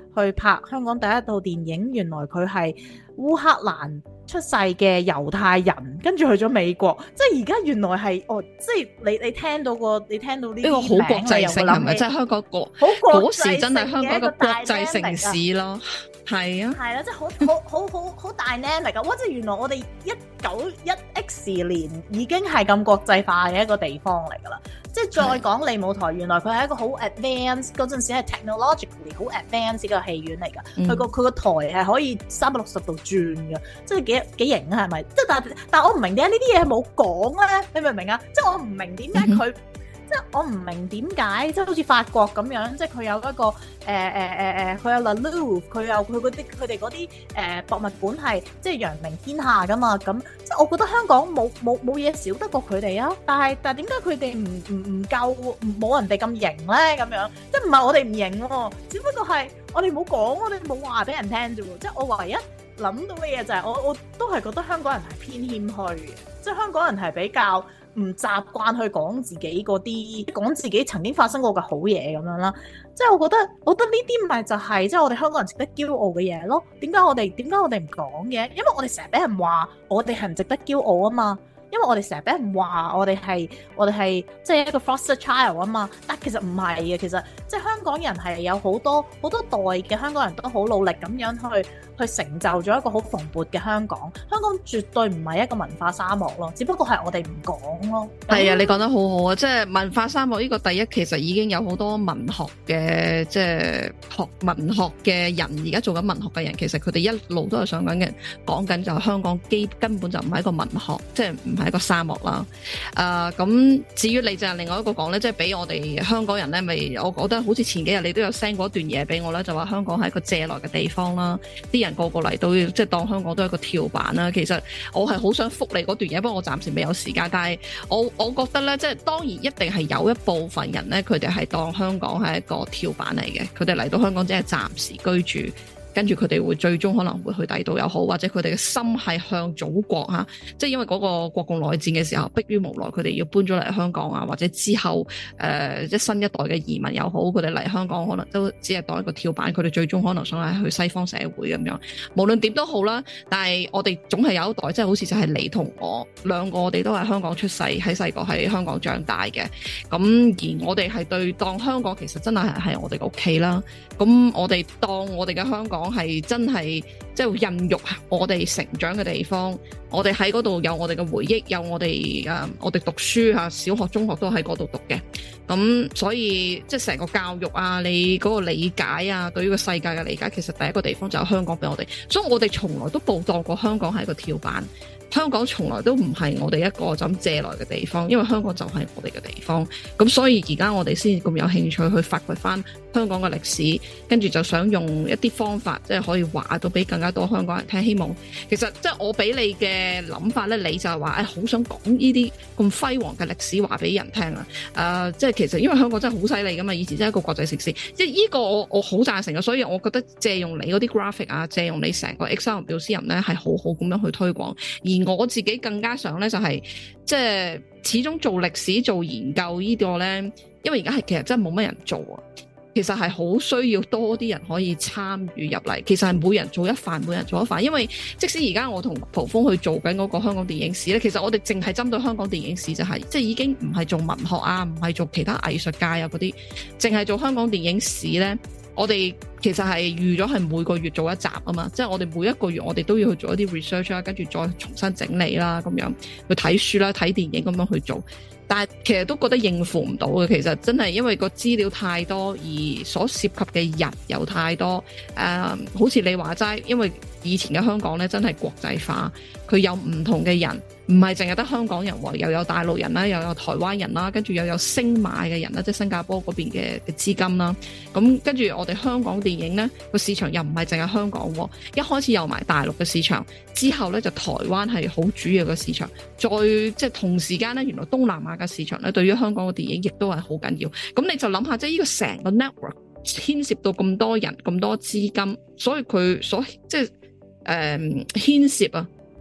去拍香港第一套電影，原來佢係烏克蘭出世嘅猶太人，跟住去咗美國，即係而家原來係哦，即係你你聽到個你聽到呢啲名，好國際性係咪？即係香港個嗰時真係香港一個國際城市咯，係啊，係啦，即係好好好好好 dynamic 㗎，哇！即係原來我哋一九一 X 年已經係咁國際化嘅一個地方嚟㗎啦。即係再講利舞台，原來佢係一個好 advanced 嗰陣時係 technologically 好 advanced 嘅戲院嚟㗎。佢個佢個台係可以三百六十度轉㗎，即係幾幾型啊？係咪？即係但但我唔明點解呢啲嘢係冇講咧？你明唔明啊？即係我唔明點解佢。即係我唔明點解，即係好似法國咁樣，即係佢有一個誒誒誒誒，佢有 La Louvre，佢有佢嗰啲佢哋嗰啲誒博物館係即係揚名天下噶嘛。咁即係我覺得香港冇冇冇嘢少得過佢哋啊！但係但係點解佢哋唔唔唔夠冇人哋咁型咧？咁樣即係唔係我哋唔型喎，只不過係我哋冇講，我哋冇話俾人聽啫喎。即係我唯一諗到嘅嘢就係我我都係覺得香港人係偏謙虛嘅，即係香港人係比較唔習慣去講自己嗰啲，講自己曾經發生過嘅好嘢咁樣啦。即係我覺得，我覺得呢啲咪就係即係我哋香港人值得驕傲嘅嘢咯。點解我哋點解我哋唔講嘅？因為我哋成日俾人話我哋係唔值得驕傲啊嘛。因為我哋成日俾人話我哋係我哋係即係一個 foster child 啊嘛。但其實唔係嘅，其實即係香港人係有好多好多代嘅香港人都好努力咁樣去去成就咗一個好蓬勃嘅香港。香港絕對唔係一個文化沙漠咯，只不過係我哋唔講咯。 係啊，你講得好好啊！即係文化沙漠呢個第一，其實已經有好多文學嘅即係學文學嘅人，而家做緊文學嘅人，其實佢哋一路都係想緊嘅，講緊就係香港基根本就唔係一個文學，即係唔係一個沙漠啦。誒、呃，咁至於你就係另外一個講咧，即係俾我哋香港人咧，咪我覺得好似前幾日你都有 send 過一段嘢俾我啦，就話香港係一個借來嘅地方啦，啲人個個嚟到即係當香港都係一個跳板啦。其實我係好想覆你嗰段嘢，不過我暫時未有時間。但係我我覺得咧，即係當然一定係有一部分人咧，佢哋係當香港係一個跳板嚟嘅，佢哋嚟到香港只係暫時居住。跟住佢哋會最終可能會去第二度又好，或者佢哋嘅心係向祖國嚇，即係因為嗰個國共內戰嘅時候，迫於無奈佢哋要搬咗嚟香港啊，或者之後誒即係新一代嘅移民又好，佢哋嚟香港可能都只係當一個跳板，佢哋最終可能想係去西方社會咁樣。無論點都好啦，但係我哋總係有一代，即係好似就係你同我兩個，我哋都係香港出世，喺細個喺香港長大嘅。咁而我哋係對當香港其實真係係我哋嘅屋企啦。咁我哋當我哋嘅香港係真係即係孕育我哋成長嘅地方，我哋喺嗰度有我哋嘅回憶，有我哋誒、呃、我哋讀書嚇，小學中學都喺嗰度讀嘅。咁所以即係成個教育啊，你嗰個理解啊，對於個世界嘅理解，其實第一個地方就係香港俾我哋，所以我哋從來都冇當過香港係一個跳板。香港從來都唔係我哋一個就咁借來嘅地方，因為香港就係我哋嘅地方。咁所以而家我哋先咁有興趣去發掘翻香港嘅歷史，跟住就想用一啲方法，即係可以話到俾更加多香港人聽。希望其實即係我俾你嘅諗法咧，你就係話誒好想講呢啲咁輝煌嘅歷史話俾人聽啊！誒、呃，即係其實因為香港真係好犀利噶嘛，以前真係一個國際城市，即係呢個我我好贊成嘅，所以我覺得借用你嗰啲 graphic 啊，借用你成個 Excel Museum 咧係好好咁樣去推廣。而我自己更加想咧，就係即係始終做歷史做研究呢個咧，因為而家係其實真係冇乜人做啊。其實係好需要多啲人可以參與入嚟。其實係每人做一範，每人做一範。因為即使而家我同蒲鋒去做緊嗰個香港電影史咧，其實我哋淨係針對香港電影史就係、是，即係已經唔係做文學啊，唔係做其他藝術界啊嗰啲，淨係做香港電影史咧。我哋其實係預咗係每個月做一集啊嘛，即係我哋每一個月我哋都要去做一啲 research 啦，跟住再重新整理啦，咁樣去睇書啦、睇電影咁樣去做。但係其實都覺得應付唔到嘅，其實真係因為個資料太多，而所涉及嘅人又太多。誒、呃，好似你話齋，因為以前嘅香港咧真係國際化，佢有唔同嘅人。唔係淨係得香港人喎，又有大陸人啦，又有台灣人啦，跟住又有星馬嘅人啦，即係新加坡嗰邊嘅嘅資金啦。咁跟住我哋香港電影呢個市場又唔係淨係香港喎，一開始有埋大陸嘅市場，之後呢就台灣係好主要嘅市場，再即係同時間呢，原來東南亞嘅市場呢對於香港嘅電影亦都係好緊要。咁你就諗下，即係呢個成個 network 牽涉到咁多人、咁多資金，所以佢所即係誒牽涉啊。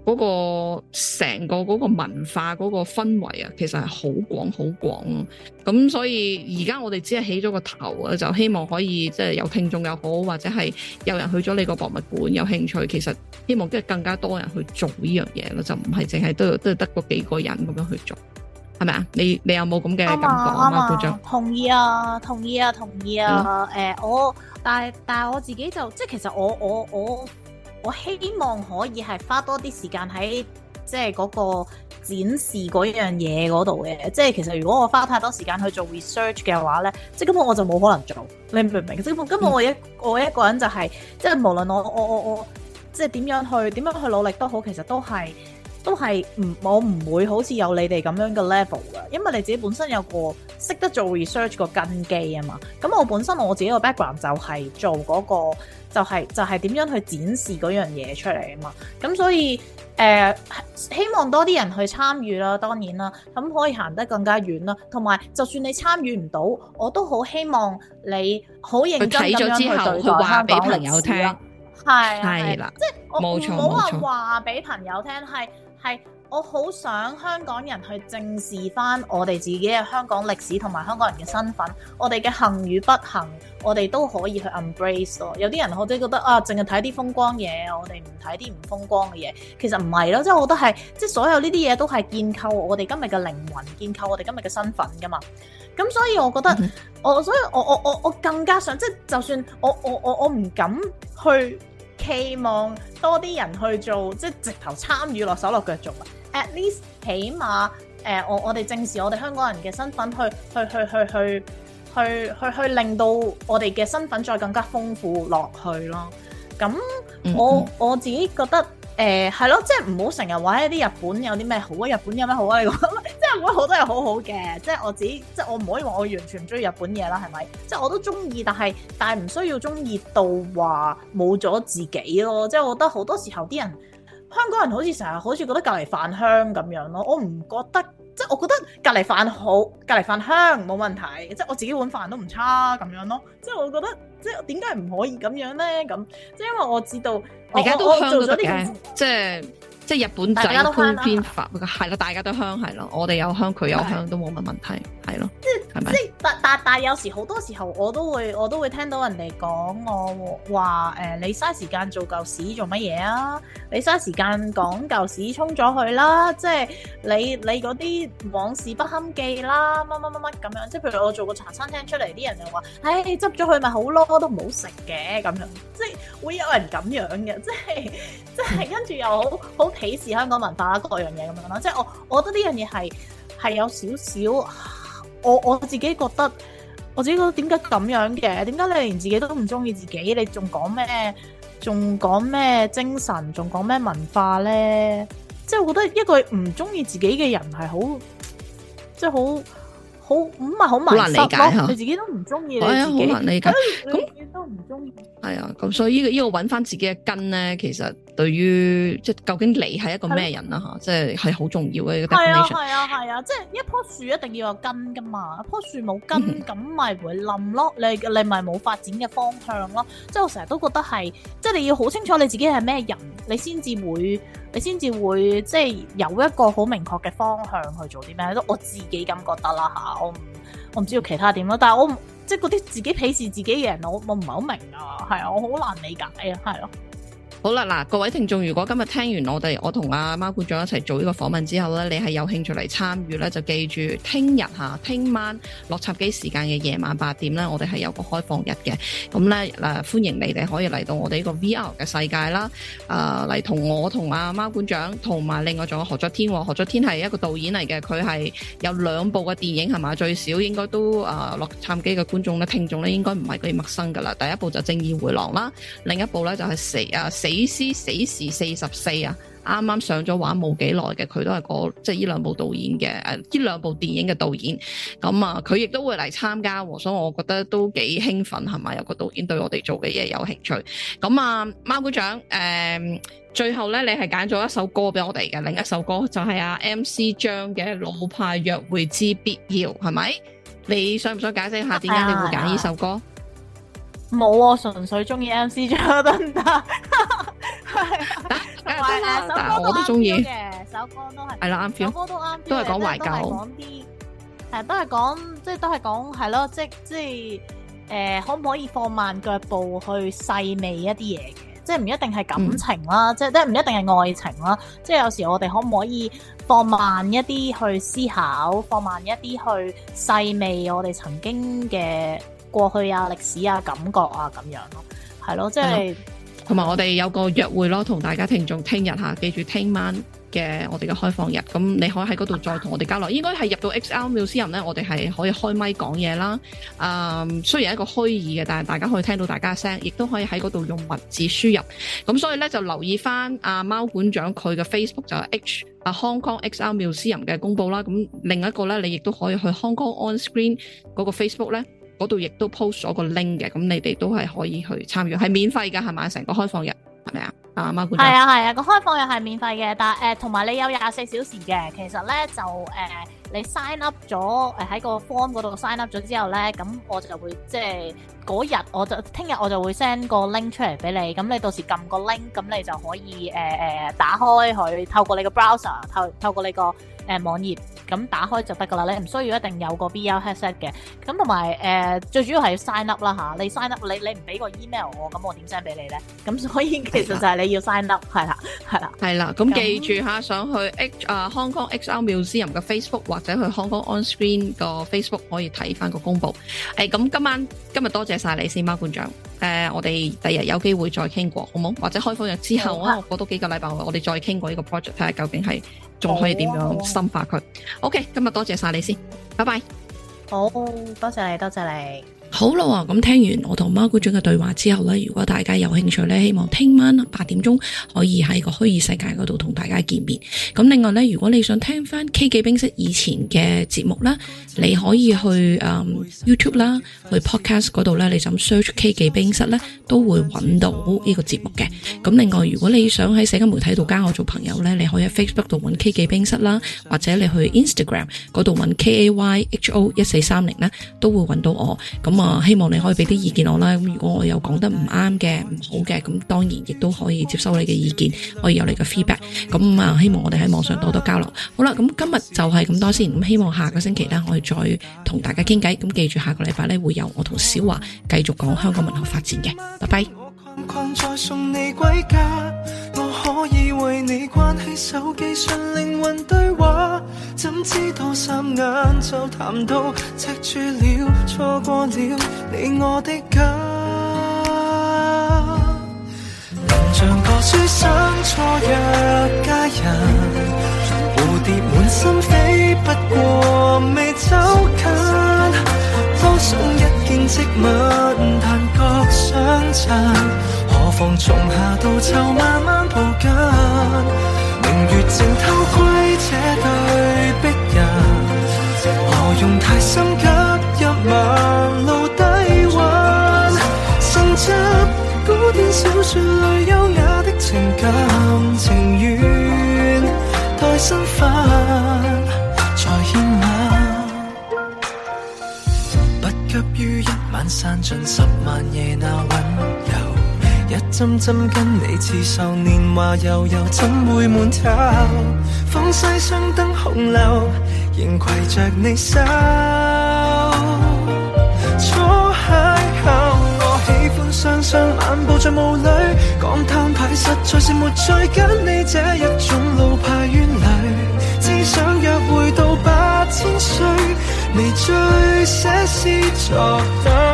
嗰個成個嗰個文化嗰個氛圍啊，其實係好廣好廣。咁所以而家我哋只係起咗個頭啊，就希望可以即係有聽眾又好，或者係有人去咗你個博物館有興趣，其實希望即係更加多人去做呢樣嘢咯，就唔係淨係都都係得嗰幾個人咁樣去做，係咪啊？你你有冇咁嘅感覺啊？馬館長， 同意啊，同意啊，同意啊。誒、呃，我但係但係我自己就即係其實我我我我希望可以係花多啲時間喺即係嗰個展示嗰樣嘢嗰度嘅。即係其實如果我花太多時間去做 research 嘅話咧，即係根本我就冇可能做。你明唔明？即係根本我一、嗯、我一個人就係、是、即係無論我我我我即係點樣去點樣去努力都好，其實都係。都係唔，我唔會好似有你哋咁樣嘅 level 㗎，因為你自己本身有個識得做 research 個根基啊嘛。咁我本身我自己個 background 就係做嗰個，就係就係點樣去展示嗰樣嘢出嚟啊嘛。咁所以誒，希望多啲人去參與啦，當然啦，咁可以行得更加遠啦。同埋，就算你參與唔到，我都好希望你好認真咁樣去對待香港歷史啦。係係啦，即係我唔好話話俾朋友聽，係係我好想香港人去正視翻我哋自己嘅香港歷史同埋香港人嘅身份，我哋嘅幸與不幸，我哋都可以去 embrace 咯。有啲人或者覺得啊，淨係睇啲風光嘢，我哋唔睇啲唔風光嘅嘢，其實唔係咯，即係我覺得係即係所有呢啲嘢都係建構我哋今日嘅靈魂，建構我哋今日嘅身份噶嘛。咁所以我覺得、嗯、我所以我我我我更加想即係就算我我我我唔敢去期望多啲人去做，即係直頭參與落手落腳做啊。At least 起碼誒、呃，我我哋正視我哋香港人嘅身份，去去去去去去去去令到我哋嘅身份再更加豐富落去咯。咁我、嗯、我自己覺得誒係咯，即係唔好成日話一啲日本有啲咩好啊，日本有咩好啊？你講即係日本好多嘢好好嘅，即係我自己即係我唔可以話我完全唔中意日本嘢啦，係咪？即係我都中意，但係但係唔需要中意到話冇咗自己咯。即係我覺得好多時候啲人。香港人好似成日好似覺得隔離飯香咁樣咯，我唔覺得，即係我覺得隔離飯好，隔離飯香冇問題，即係我自己碗飯都唔差咁樣咯，即係我覺得，即係點解唔可以咁樣咧？咁即係因為我知道， 而家都香咗啲嘅，即係即係日本仔配偏法，係咯，大家都香係咯，我哋有香佢有香都冇乜問題，係咯，即係係咪？即係但但但有時好多時候我都會我都會聽到人哋講我話誒、呃，你嘥時間做舊屎做乜嘢啊？你嘥時間講舊屎沖咗佢啦，即係你你嗰啲往事不堪記啦，乜乜乜乜咁樣。即係譬如我做個茶餐廳出嚟，啲人就話，唉，執咗佢咪好咯，都唔好食嘅咁樣。即係會有人咁樣嘅，即係即係跟住又好好鄙視香港文化各樣嘢咁樣咯。即係我我覺得呢樣嘢係係有少少，我我自己覺得我自己覺得點解咁樣嘅？點解你連自己都唔中意自己，你仲講咩？仲講咩精神，仲講咩文化咧？即係我覺得一個唔中意自己嘅人係好，即係好好唔係好難理解咯。你自己都唔中意你自己，好難理解。咁你都唔中意。係啊，咁所以呢個呢個揾翻自己嘅根咧，其實對於即係究竟你係一個咩人啦吓，即係係好重要嘅一個 definition。係啊係啊係啊，即係一棵樹一定要有根噶嘛，一棵樹冇根咁咪會冧咯，你你咪冇發展嘅方向咯。即係我成日都覺得係，即係你要好清楚你自己係咩人，你先至會你先至會即係有一個好明確嘅方向去做啲咩。我自己咁覺得啦吓，我唔我唔知道其他點咯，但係我即係嗰啲自己鄙視自己嘅人，我我唔係好明啊，係啊，我好難理解啊，係咯。好啦，嗱，各位聽眾，如果今日聽完我哋我同阿貓館長一齊做呢個訪問之後咧，你係有興趣嚟參與咧，就記住聽日吓，聽晚洛杉磯時間嘅夜晚八點咧，我哋係有個開放日嘅，咁咧嗱，歡迎你哋可以嚟到我哋呢個 V R 嘅世界啦，誒嚟同我同阿貓館長同埋另外仲有何作天，何作天係一個導演嚟嘅，佢係有兩部嘅電影係嘛，最少應該都誒洛杉磯嘅觀眾咧聽眾咧應該唔係幾陌生噶啦，第一部就正義回廊啦，另一部咧就係死啊死屍死時四十四啊，啱啱上咗畫冇幾耐嘅，佢都係個即係呢兩部導演嘅誒，呢兩部電影嘅導演，咁啊佢亦都會嚟參加，所以我覺得都幾興奮係咪？有個導演對我哋做嘅嘢有興趣，咁啊貓館長誒、呃，最後咧你係揀咗一首歌俾我哋嘅，另一首歌就係阿 M C 張嘅《老派約會之必要》，係咪？你想唔想解釋下點解你會揀呢首歌？冇啊，純粹中意 M C 張得唔得？ 梗係得啦，但係我都中意嘅，首歌都係係啦啱 feel， 首歌都啱 feel， 都係講懷舊， 講啲係都係講即係都係講係咯，即即係誒、呃、可唔可以放慢腳步去細味一啲嘢嘅？即係唔一定係感情啦，嗯、即係即係唔一定係愛情啦。即係有時我哋可唔可以放慢一啲去思考，放慢一啲去細味我哋曾經嘅過去啊、歷史啊、感覺啊咁樣咯，係咯，即係同埋我哋有個約會咯，同大家聽眾聽日嚇，記住聽晚嘅我哋嘅開放日，咁你可以喺嗰度再同我哋交流。應該係入到 X R Museum 咧，我哋係可以開咪講嘢啦。誒，雖然係一個虛擬嘅，但係大家可以聽到大家聲，亦都可以喺嗰度用文字輸入。咁所以咧就留意翻阿貓館長佢嘅 Facebook 就係 H 啊 Hong Kong X R Museum 嘅公佈啦。咁另一個咧，你亦都可以去 Hong Kong On Screen 嗰個 Facebook 咧，嗰度亦都 post 咗個 link 嘅。咁你哋都係可以去參與，係免費㗎，係咪？成個開放日係咪啊？啊，貓館長係啊係啊，個開放日係免費嘅，但係誒同埋你有廿四小時嘅。其實咧就誒、呃、你 sign up 咗誒喺個 form 嗰度 sign up 咗之後咧，咁我就會即係嗰日我就聽日我就會 send 個 link 出嚟俾你，咁你到時撳個 link，咁你就可以誒誒、呃、打開佢，透過你個 browser 透透過你個誒、呃、網頁咁打開就得噶啦，你唔需要一定有個 V R headset 嘅。咁同埋誒最主要係要 sign up 啦吓，你 sign up 你你唔俾個 email 我，咁我點 send 俾你咧？咁所以其實就係你要 sign up 係啦係啦係啦。 咁記住吓，上去 H 啊 Hong Kong X R Museum 嘅 Facebook 或者去 Hong Kong On Screen 個 Facebook 可以睇翻個公佈。誒咁今晚今日多謝晒你先，貓館長。誒、呃、我哋第日有機會再傾過，好冇？或者開放日之後啊，過多幾個禮拜我哋再傾過呢個 project， 睇下究竟係仲可以點樣深化佢。OK，今日多謝晒你先，拜拜。 好，多謝你，多謝你。 好啦，咁聽完我同貓館長嘅對話之後呢，如果大家有興趣呢，希望聽晚八點鐘可以喺個虛擬世界嗰度同大家見面。咁另外呢，如果你想聽翻 K 記冰室以前嘅節目啦，你可以去、嗯、YouTube 啦，去 Podcast 嗰度呢，你就 search K 記冰室呢，都會揾到呢個節目嘅。咁另外，如果你想喺社交媒體度加我做朋友呢，你可以喺 Facebook 度揾 K 記冰室啦，或者你去 Instagram 嗰度揾 K A Y H O 一四三零呢，都會揾到我。咁啊，希望你可以俾啲意見我啦。咁如果我有講得唔啱嘅、唔好嘅，咁當然亦都可以接收你嘅意見，可以有你嘅 feedback。咁啊，希望我哋喺網上多多交流。好啦，咁今日就係咁多先。咁希望下個星期呢，我哋再同大家傾偈。咁記住下個禮拜呢，會有我同小華繼續講香港文學發展嘅。拜拜。我可以為你關起手機上靈魂對話，怎知道霎眼就談到赤柱了，錯過了你我的家。能像個書生錯約佳人，蝴蝶滿心飛，不過未走近，多想一見即吻，但覺相襯。何妨從夏到秋慢慢抱緊，明月正偷窺這對璧人，何用太心急入盲路低溫，深執古典小說裡優雅的情感，情願待身份再獻吻，不急於一晚散盡十萬夜那溫柔，一針針跟你刺繡，年華悠悠怎會悶透？風西雙燈紅樓，仍攜着你手。初邂逅，我喜歡雙雙漫步在霧裡，講攤牌實在是沒趣，跟你這一種老派冤侶，只想約會到八千歲，微醉寫詩作對。